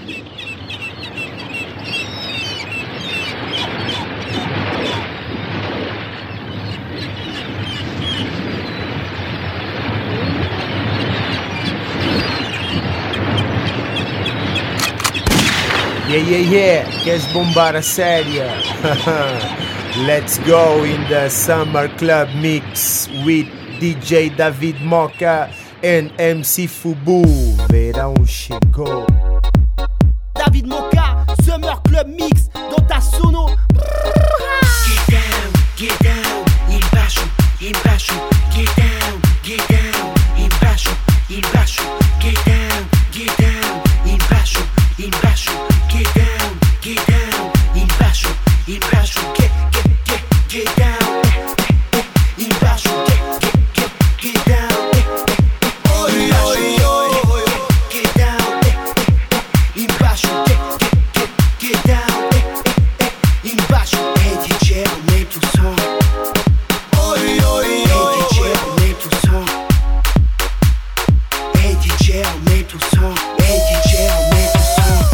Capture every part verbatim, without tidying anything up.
Yeah, yeah, yeah, queres bombar a séria? Let's go in the Summer Club Mix with D J David Moca and M C Fubu. Verão chegou. David Moca, Summer Club Mix dans ta sono. Get down, get down, embaixo, embaixo. Get down, get down, embaixo, embaixo. Get down, get down, embaixo, embaixo. Get down, get down, embaixo, embaixo. Get, get, get, get down, embaixo. Get, get, get, get down. Oi, oi, oi, get down, embaixo. Get, get, get, get down, embaixo. Hey D J, aumenta o som. Oi, oi, oi, hey D J, aumenta o som. Hey D J, aumenta o som. Hey D J, aumenta o som.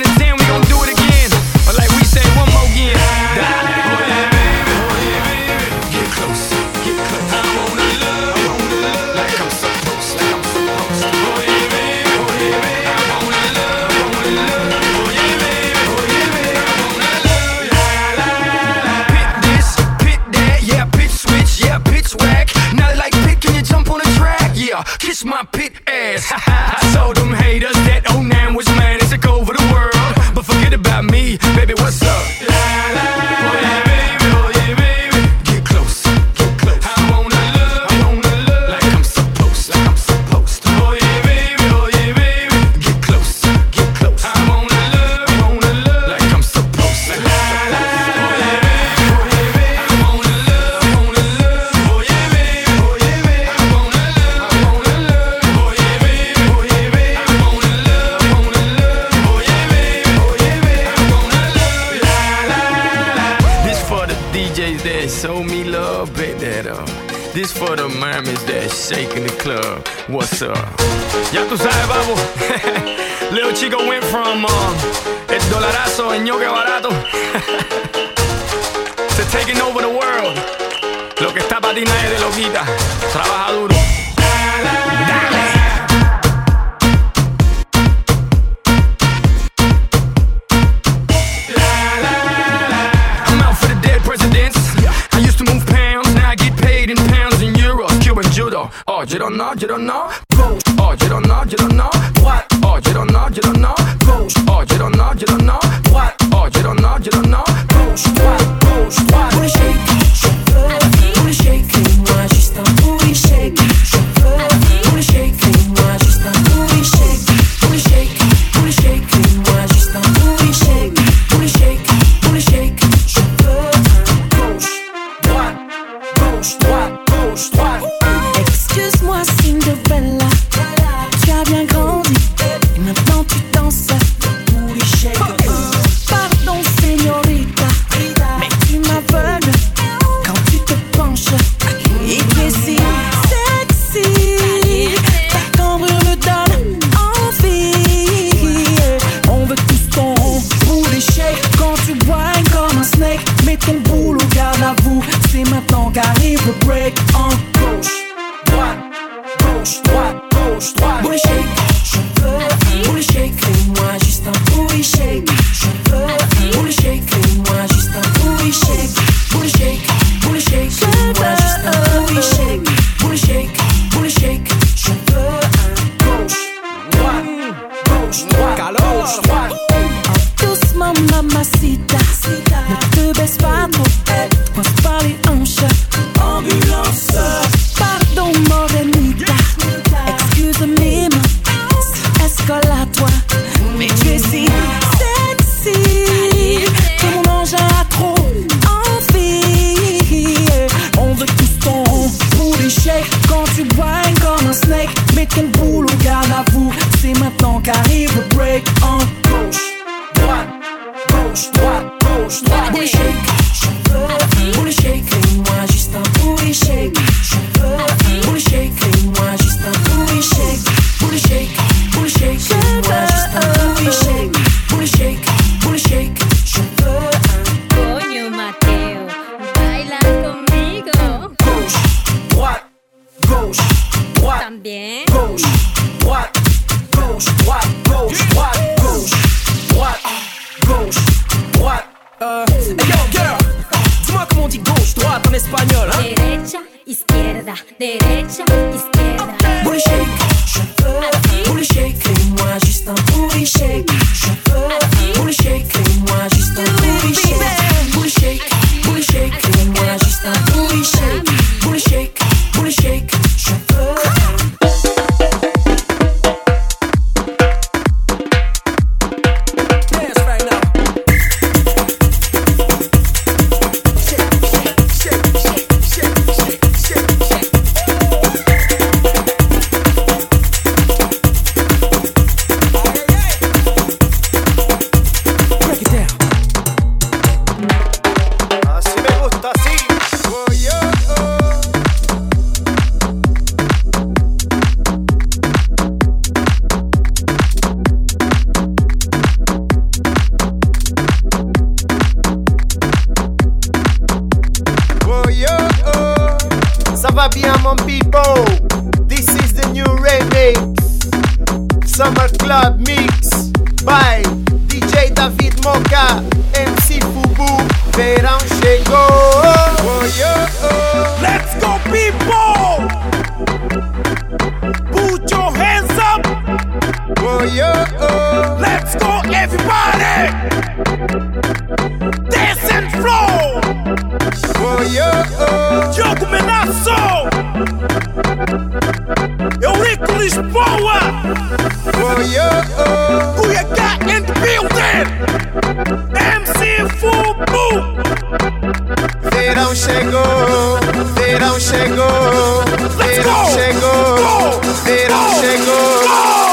Baby, y'all kiss my pit ass. I told them haters that oh nine was mine and took over the world. But forget about me, baby, what's up? La, la, oh yeah, baby, oh yeah, baby. Get close, get close. I wanna love, I wanna love like I'm supposed, like I'm supposed to. Oh yeah, baby, oh yeah, baby. Get close, get close. I wanna love, I wanna love like I'm supposed to. La, la, oh yeah, baby, oh yeah, baby. I wanna love, I wanna love. Oh yeah, baby, oh yeah, baby. I wanna love, I wanna love. Oh yeah, baby, oh yeah, baby. I wanna love, I wanna love. Oh yeah, baby, oh yeah, baby. I wanna love. La, la, la. This for the D Js that show me love, baby. That uh, this for the mamas that shaking the club. What's up? Ya tú sabes, babo. Little Chico went from um, el dolarazo en yoga barato to taking over the world. Lo que está para ti nadie te lo quita. Trabaja duro. Dale. I'm out for the dead presidents. I used to move pounds, now I get paid in pounds and euros. Cuban judo. Oh, you don't know, you don't know. Oh, you don't know, you don't know. What? Oh, you don't know, you don't know. Oh, you don't know, you don't know. What? Oh, you don't know, you don't know. Booty shake, booty shake, moi juste un booty shake. Booty shake, moi juste un booty shake. Booty shake, booty shake, moi juste un booty shake. Booty shake, booty shake, je veux un gauche, droite, gauche, droite, gauche, droite. Excuse-moi Cinderella, tu as bien grandi et maintenant tu danses. Booty shake. Pardon señorita, mais tu m'aveugles quand tu te penches. Et tu es si sexy, ta cambrure me donne envie. On veut tous ton booty shake quand tu whines comme un snake. Mets ton boule au garde à vous, c'est maintenant qu'arrive le break. En gauche, droite, gauche, droite, gauche, droite. Booty shake, je veux un booty shake, fais-moi juste un booty shake. Je veux un booty shake, fais-moi juste un booty shake. Booty shake, booty shake, fais-moi juste un booty shake. Booty shake, booty shake, je veux un gauche, droite, gauche, droite, gauche, droite. Doucement mamacita, ne te baisse pas trop, pense pas les hanches. Ambulance. Pardon morenita, excuse-moi, escolade-toi. Mais tu es si sexy que mon ange a trop envie. On veut tous ton booty shake quand tu whines comme un snake. Mets ton boule au garde à vous, c'est maintenant qu'arrive le break. En gauche, droite, gauche, droite, gauche, droite. Booty shake, je veux un booty shake, fais-moi juste un booty shake. Je veux un booty shake, fais-moi juste un booty shake. Booty shake, booty shake, fais-moi juste un booty shake. Booty shake, booty shake, je veux un. Coño Mateo, baila conmigo. Gauche, droite, gauche, droite. También. Gauche, droite, gauche, droite, gauche, droite, gauche, droite, gauche, droite. Euh, hey yo girl, dis-moi comment on dit gauche, droite en espagnol, hein? Derecha, izquierda, derecha, izquierda. Booty shake, je veux un booty shake, fais-moi juste un booty shake. Je veux un booty shake, fais-moi juste un booty shake. Booty shake, booty shake, fais-moi juste un booty shake. Booty shake, booty shake, je veux un. Summer Club Mix by D J David Moka, M C Fubu, verão chegou. Oh, yo, oh. Let's go people! Diogo Menaço, Eurico Lisboa, Cuiabá and Building, M C Fubu. Verão chegou, verão chegou, verão chegou, verão chegou.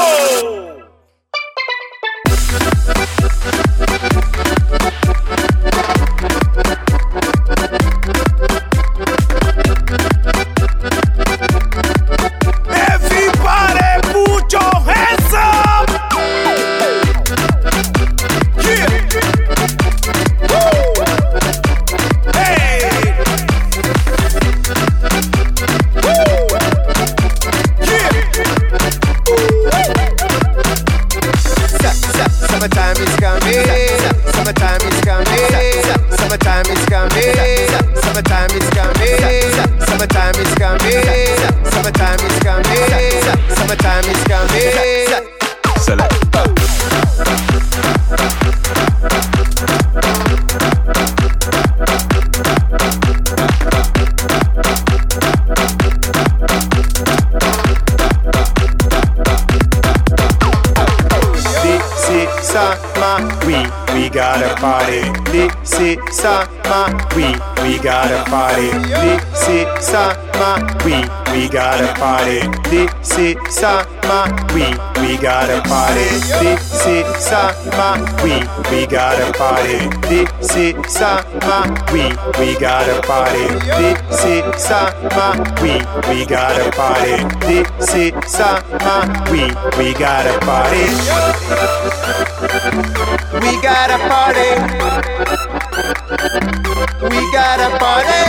Summer, we we gotta party. This is summer, we we gotta party. This is summer, we we gotta party. This is summer, we we gotta party. This is summer, we we gotta party. This is summer, we we gotta party. This is summer, we we gotta party. We gotta party. We gotta party.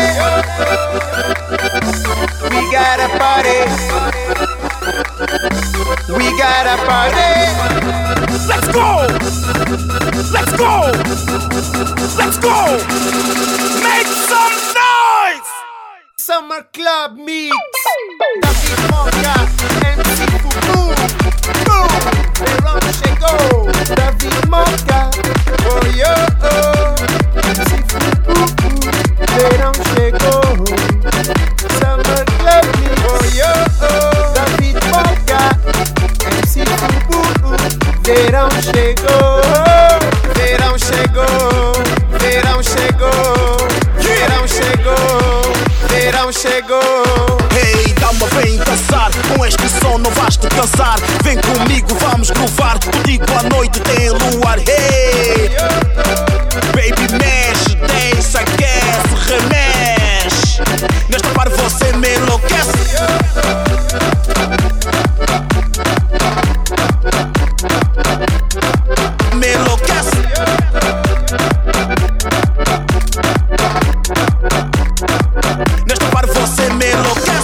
We gotta party. We gotta party. Let's go. Let's go. Let's go. Make some noise. Summer Club Mix. David Moca, M C Fubu. Boom. Verão chegou. David Moca. Oh yo oh. M C Fubu. Verão chegou. Summer Club Mix. Oh yo oh. David Moca. M C Fubu. Verão chegou. Verão chegou. Verão chegou. Verão chegou. Verão chegou. Hey, dá-me bem dançar. Com este som não vais te cansar. Vem comigo, vamos groovar. Contigo à noite tem luar. Hey, baby, mexe, deixa, aquece, remexe. Nesta par você me enlouquece. Me enlouquece. Nesta par você me enlouquece.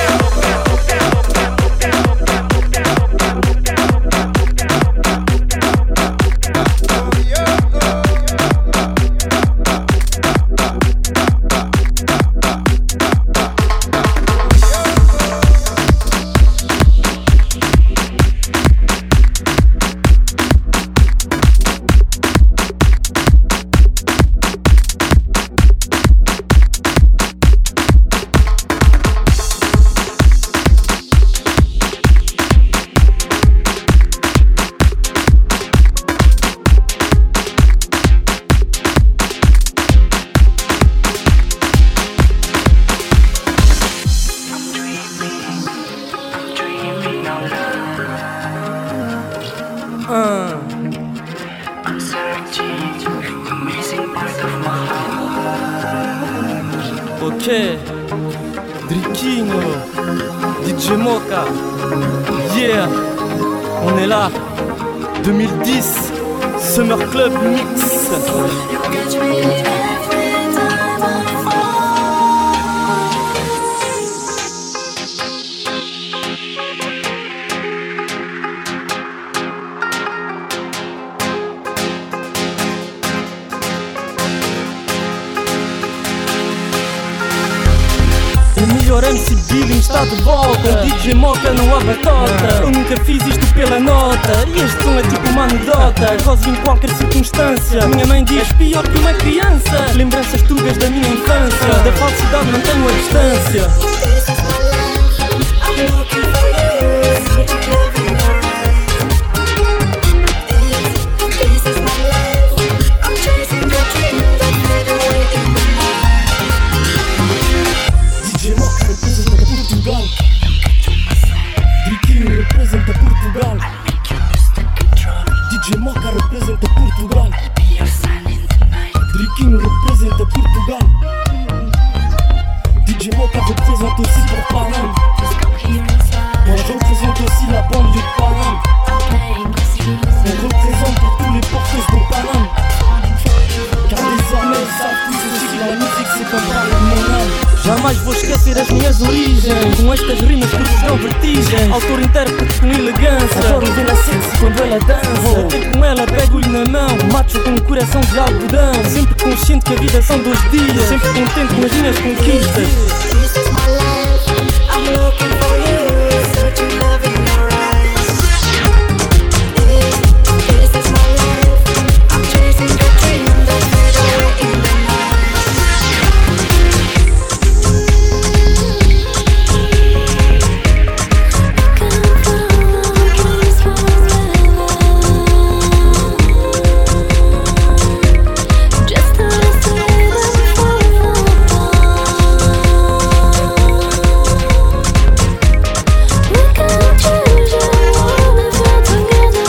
Ok, Driquinho, D J Moca, yeah, on est là, deux mille dix, Summer Club Mix. O melhor M C Billing está de volta. O D J Moca não abre tota. Eu nunca fiz isto pela nota. E este som é tipo uma anedota. Gozo em qualquer circunstância. Minha mãe diz pior que uma criança. Lembranças tugas da minha infância. Da falsidade mantenho a distância. D J Moca representa Portugal. Driquinho representa Portugal. D J Moca representa Portugal. Driquinho representa Portugal. D J Moca representa aussi pour Paname. Moi je représente aussi la banlieue de Paname. On représente pour tous les porteurs de Paname. Car désormais ils savent tous aussi que la musique c'est comme parler de mon âme. Jamais vou esquecer as minhas origens. Com estas rimas que vos dão vertigem. Autor intérprete com elegância. Adoro vê-la sexy quando ela dança. Vou ter com ela, pego-lhe na mão. Macho com um coração de algodão. Sempre consciente que a vida são dois dias. Sempre contente com as minhas conquistas. This is my life, I'm looking for you, searching love in your eyes. This, this is my life, I'm chasing your dream that fade away in the night. Can't follow dreams forever. Just to see them fall apart. We can't change the world if we're together.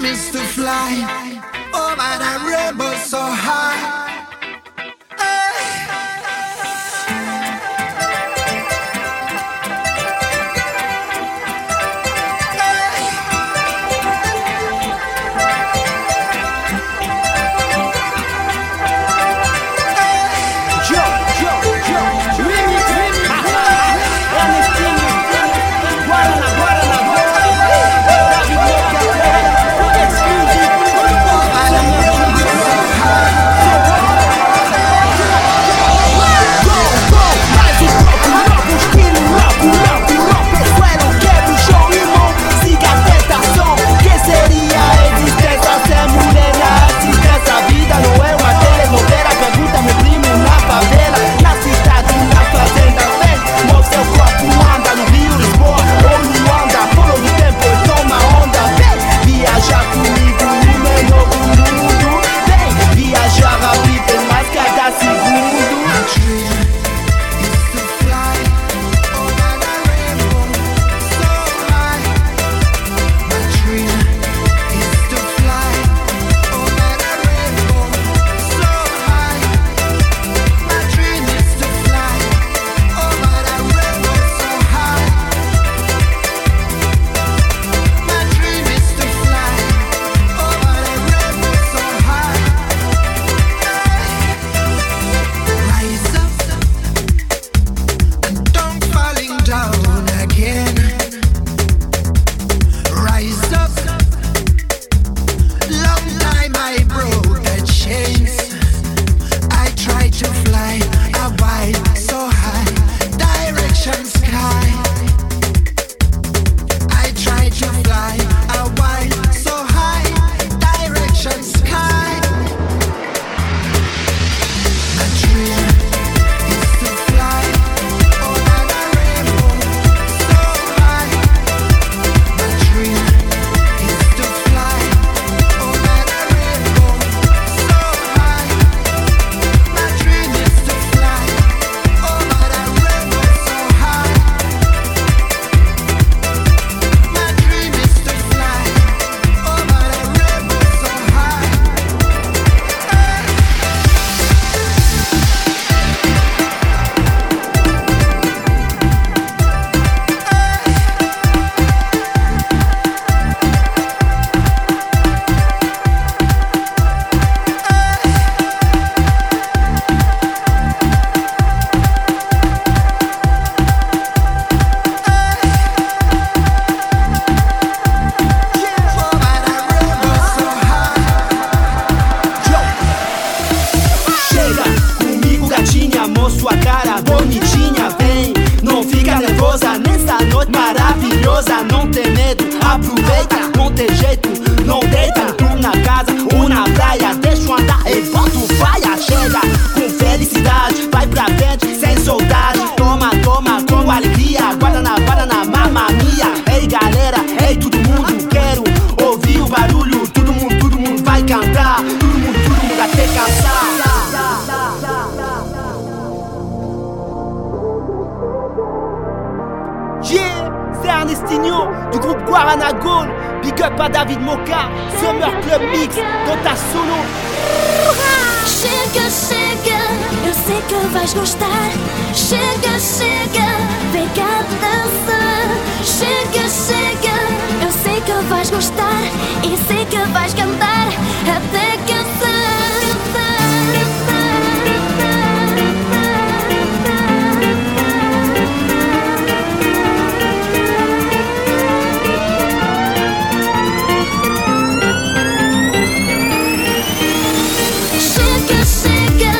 dream is to fly over the rainbow so high.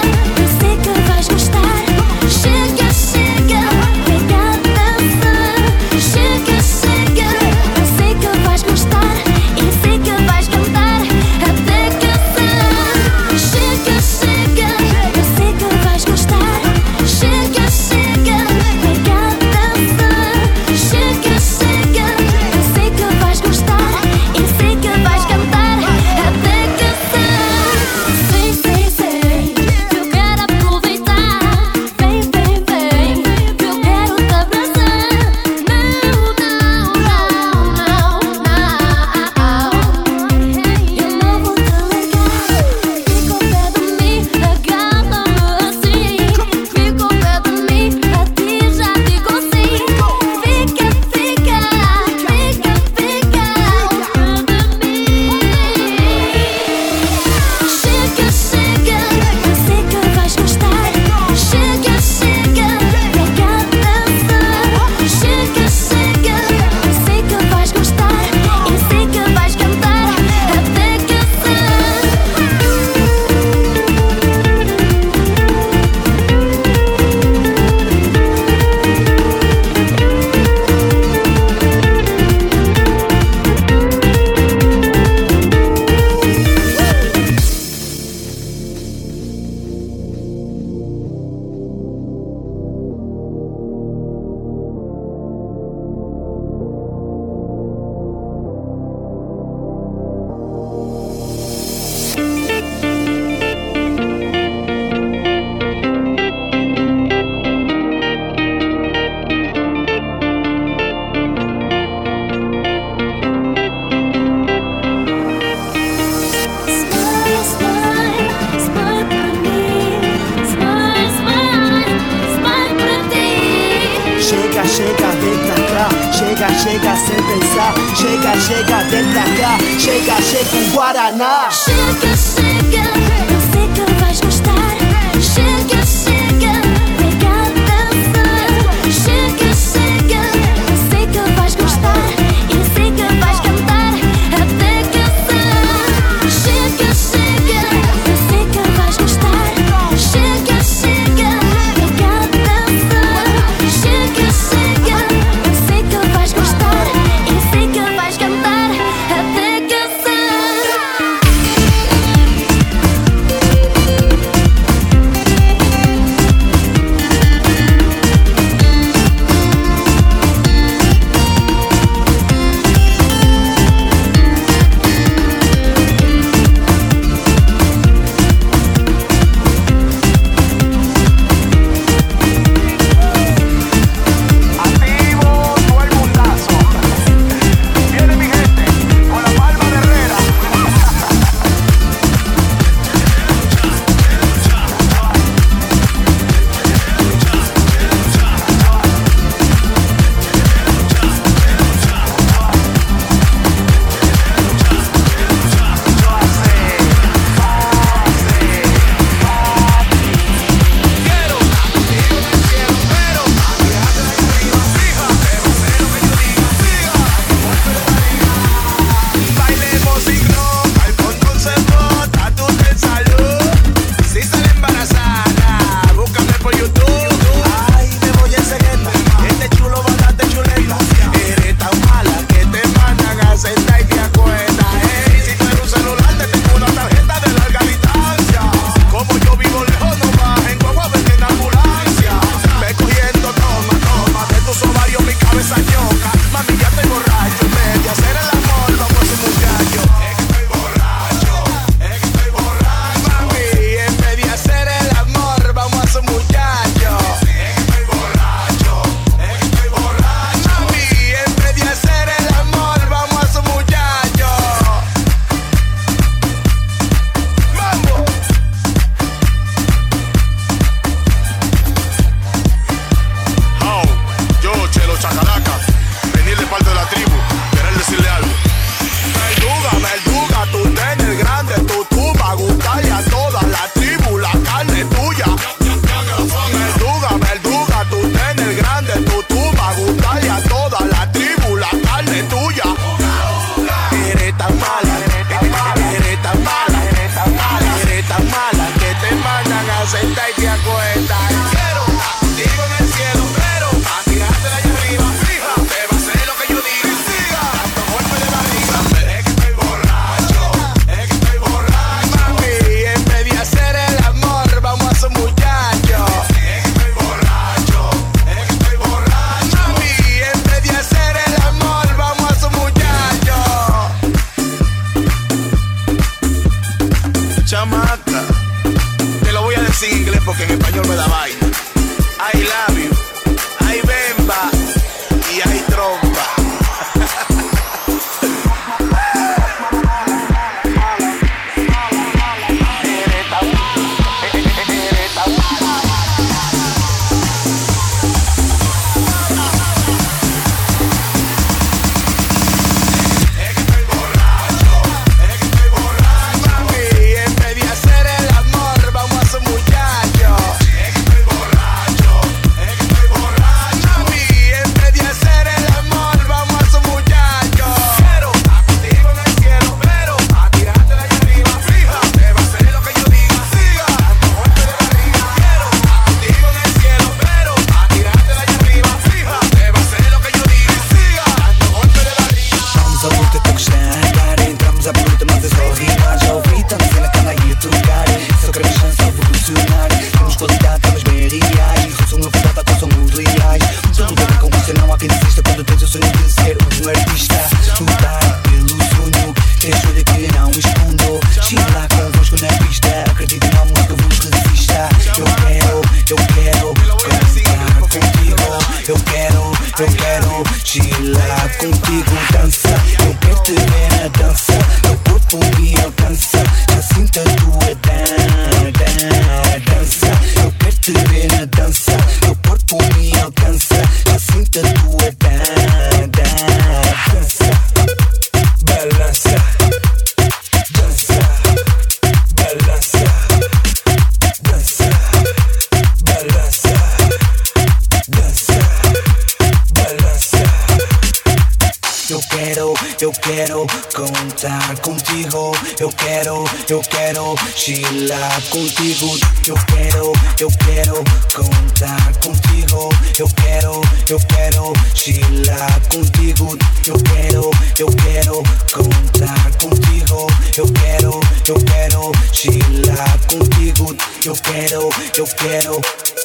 Chega, chega, vem cá dançar. chega, chega sem pensar. Chega, chega, vem pra cá. Chega, chega um Guaraná. Chega, chega, eu sei que vais gostar. Chega, chega, vem cá dançar. Chega, chega, eu sei que vais gostar. E sei que vais cantar até cansar. Chega, chega, eu sei que vais gostar. Chega, chega, vem cá dançar. Chega, chega, eu sei que vais gostar. E sei que vais cantar até cansar. Eu quero chilar contigo, dança. Eu quero te ver na dança. Teu corpo me alcança. Já sinto a tua dan, dan, dança. Eu quero te ver na dança. Teu corpo me alcança. Já sinto a tua dan, dan. dança, balança, dança, balança, dança, balança, dança, balança. Eu quero, eu quero contar contigo. Eu quero, eu quero chilar contigo. Eu quero, eu quero contar contigo. Eu quero, eu quero chilar contigo. Eu quero, eu quero contar contigo. Eu quero, eu quero chilar contigo. Eu quero, eu quero.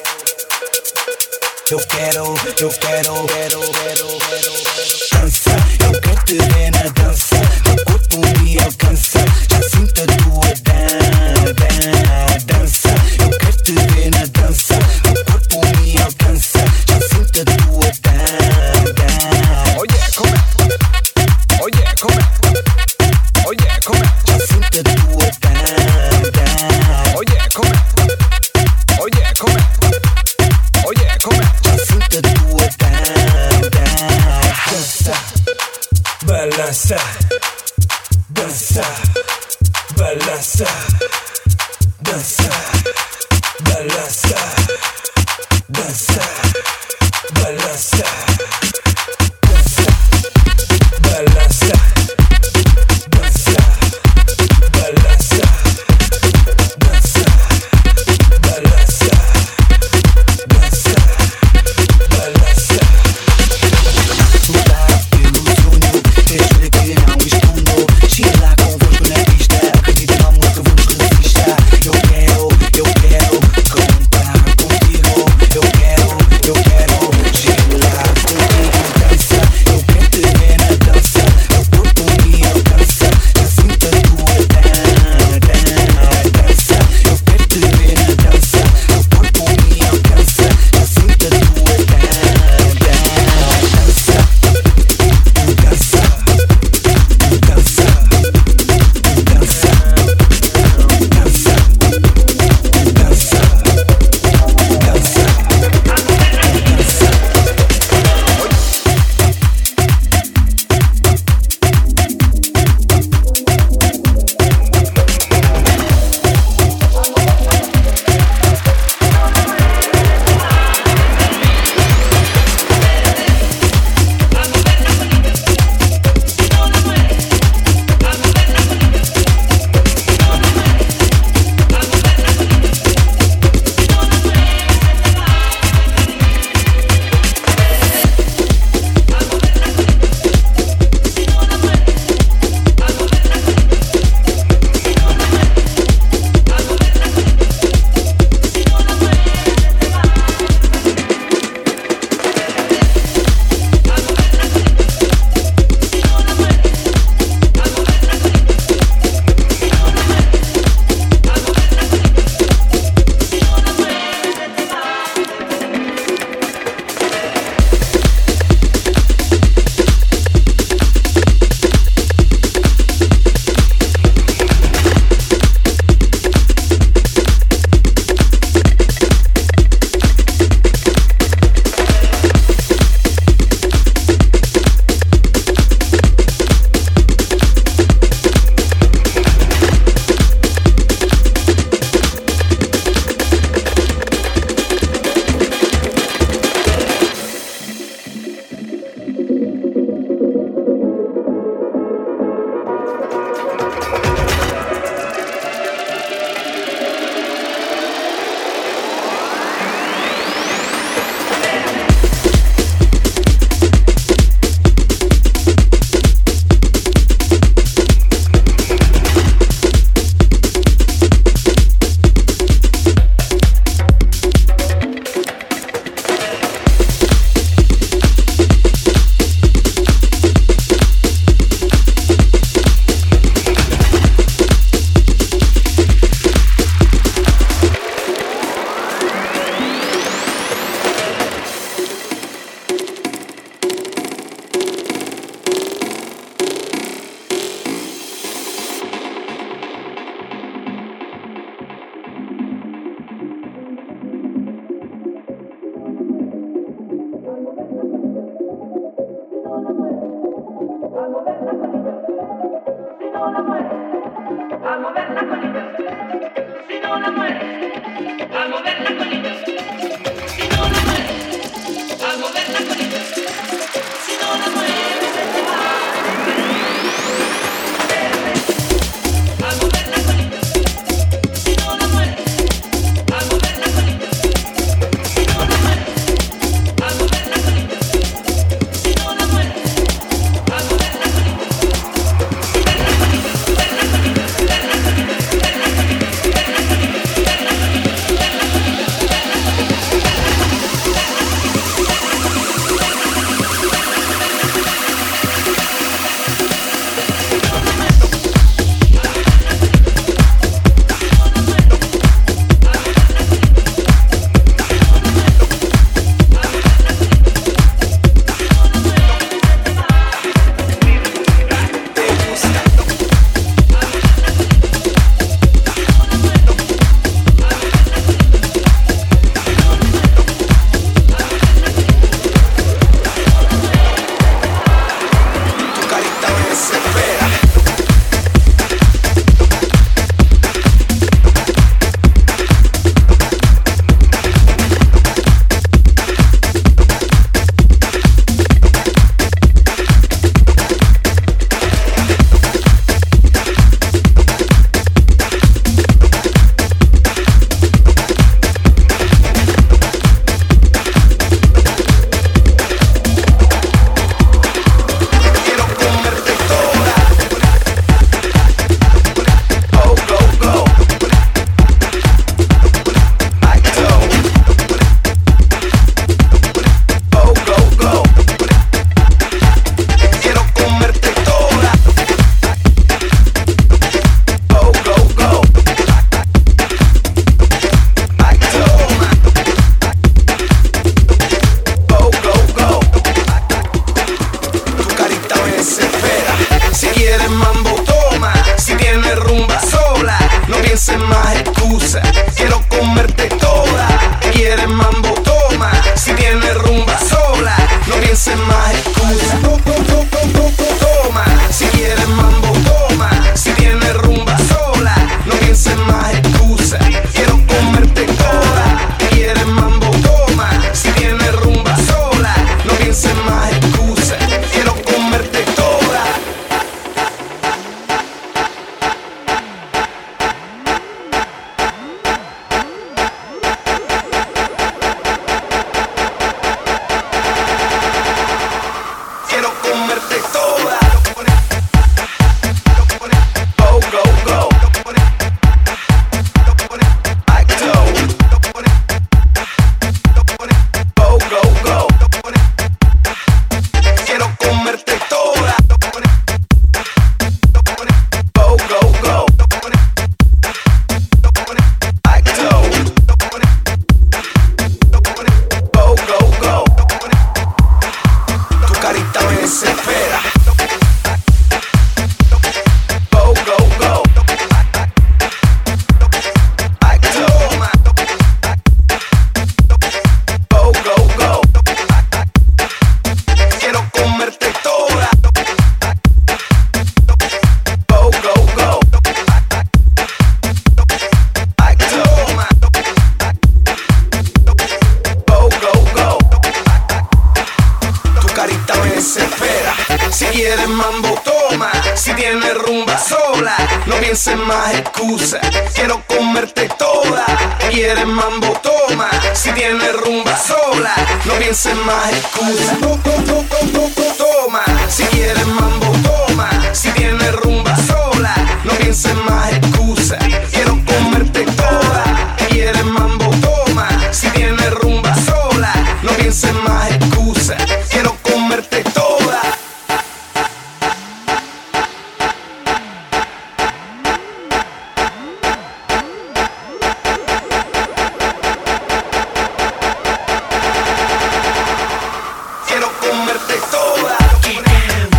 Eu quero, eu quero, quero, quero, quero. Dança, eu quero te ver na dança. Teu corpo me alcança. Já sinto a tua dan, dan, dança. Eu quero te ver na dança. Teu corpo me alcança. Já sinto a tua dan, dan. Oh yeah, come on. Oh yeah, come on. Oh yeah, come on. Já sinto a tua dan, dan. Oh yeah, come on. Oh yeah, come on. Oh yeah, come on. Já sinto a tua dan, dan. Dança, balança, dança, balança, dança, balança, dança, balança, dança, balança, dança, balança, dança, balança, dança, balança. Lutar pelo sonho, é jura que não escondo. Chega lá convosco na pista, acredita no amor que vos resista. Eu quero, eu quero contar contigo. Eu quero, eu quero chilar contigo. Dança, eu quero te ver na dança. Teu corpo pienses más excusas. Quiero comerte toda. ¿Quieres mambo? Toma. Si tienes rumba sola, no pienses más excusas. Toma. Si quieres mambo, toma. Si tienes rumba sola, no pienses más excusas. Quiero comerte toda. ¿Quieres mambo? Toma. Si tienes rumba sola, no pienses más excusas. Quiero comerte toda. Quiero comerte toda. Get down,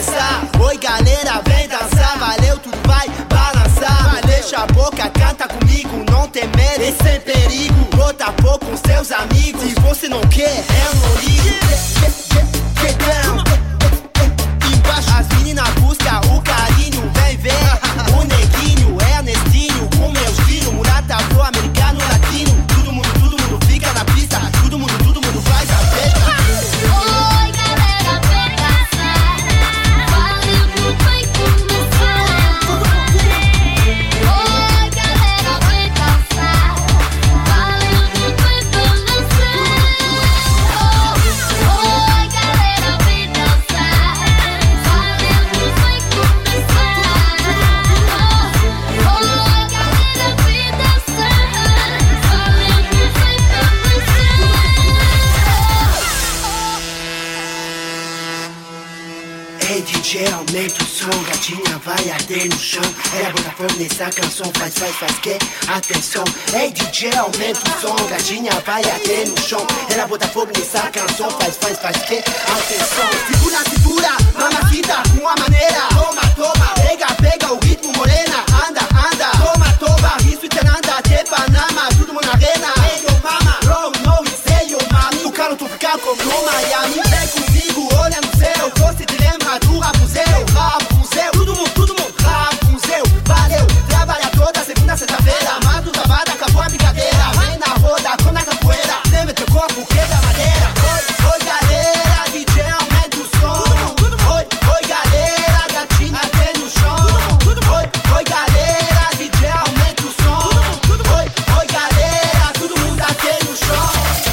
começar. Oi galera, vem dançar, valeu, tudo vai balançar. Deixa a boca, canta comigo, não tem medo, esse é perigo. Bota pouco com seus amigos, se você não quer, eu não ligo. Get down, embaixo. As meninas buscam o carinho, vem ver. O neguinho, Ernestinho, com meu estilo. Mulata, afro-americano, latino. Todo mundo, todo mundo fica na pista. Todo mundo, todo mundo faz a festa. Oi galera, vem dançar, valeu, tudo vai começar. Oi galera, vem dançar, valeu, tudo vai balançar. Oi galera, vem dançar, valeu, tudo vai começar. Oi galera, vem dançar, valeu, tudo vai balançar. Ei D J, aumenta o som, gatinha vai arder no chão. Ela bota fogo nessa canção, faz, faz, faz que atenção. Ei D J, aumenta o som, gatinha vai arder no chão. Ela bota fogo nessa canção, faz, faz, faz que atenção. Segura, segura, mamacita, com a maneira. Toma, toma, pega, pega o ritmo, morena. Anda, anda, toma, toma, isso te anda, te Panama, tudo mundo na arena. Hey yo mama, bro, no, say yo mami. O calo tu fica como no Miami. Vem comigo, olha no céu, você te lembra do Rapunzel, Rapunzel, todo mundo, todo mundo, Rapunzel, valeu, trabalha toda segunda, sexta-feira, mas tu trabalha, acabou a brincadeira, vem na roda, com na capoeira, lembra teu corpo, quebra madeira, oi, oi galera, D J aumenta o som, oi, oi galera, gatinha até no chão, oi, oi galera, D J aumenta o som, oi, oi galera, todo mundo até no chão.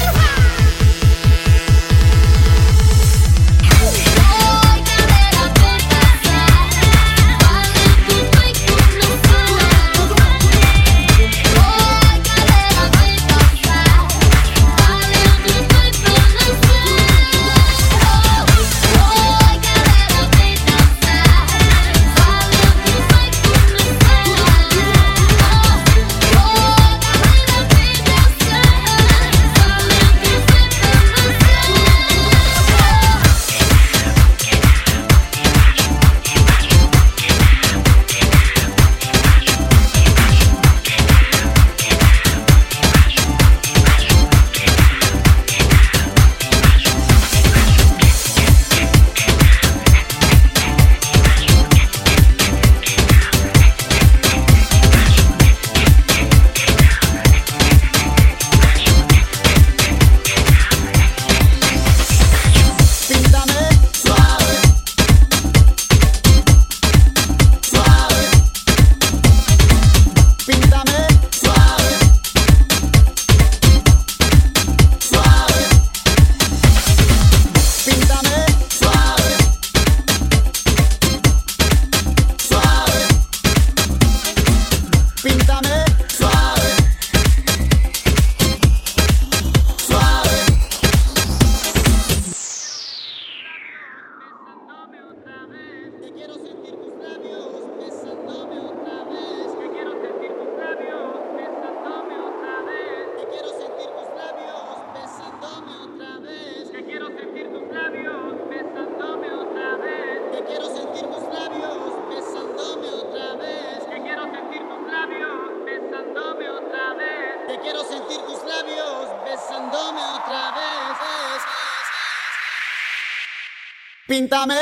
Píntame,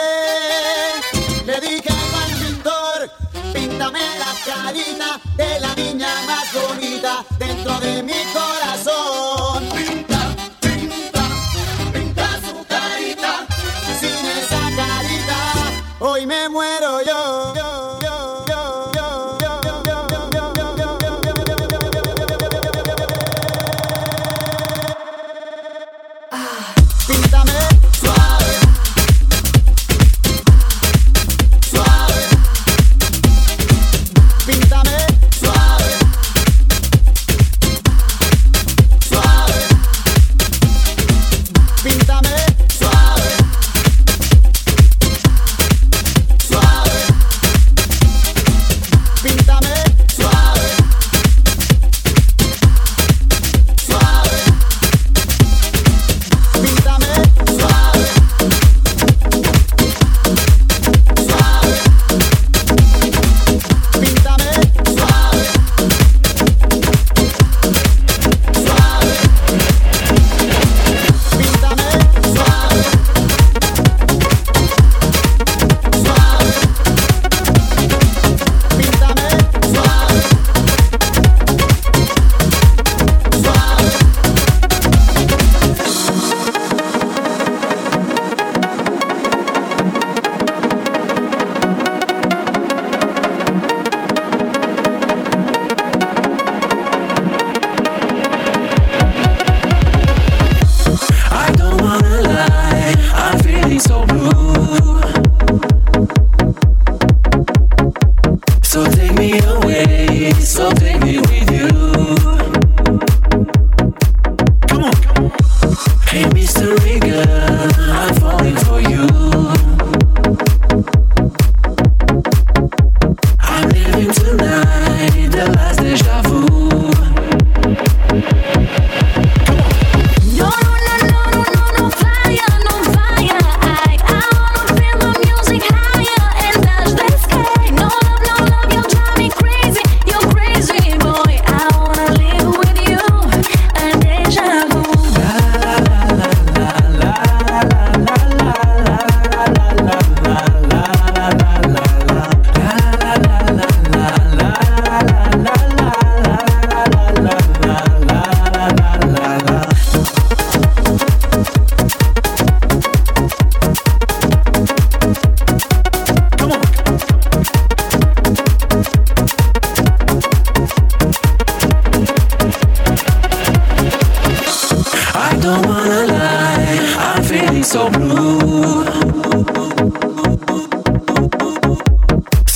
le dije al pintor, píntame la carita de la niña más bonita dentro de mi corazón. Pinta, pinta, pinta su carita, sin esa carita, hoy me muero yo. yo, yo, yo, yo, yo, yo, yo, yo, yo, yo, Ah, píntame suave. Píntame suave, suave. Píntame suave, suave.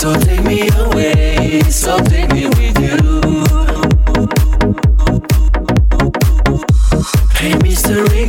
So take me away, so take me with you. Hey mystery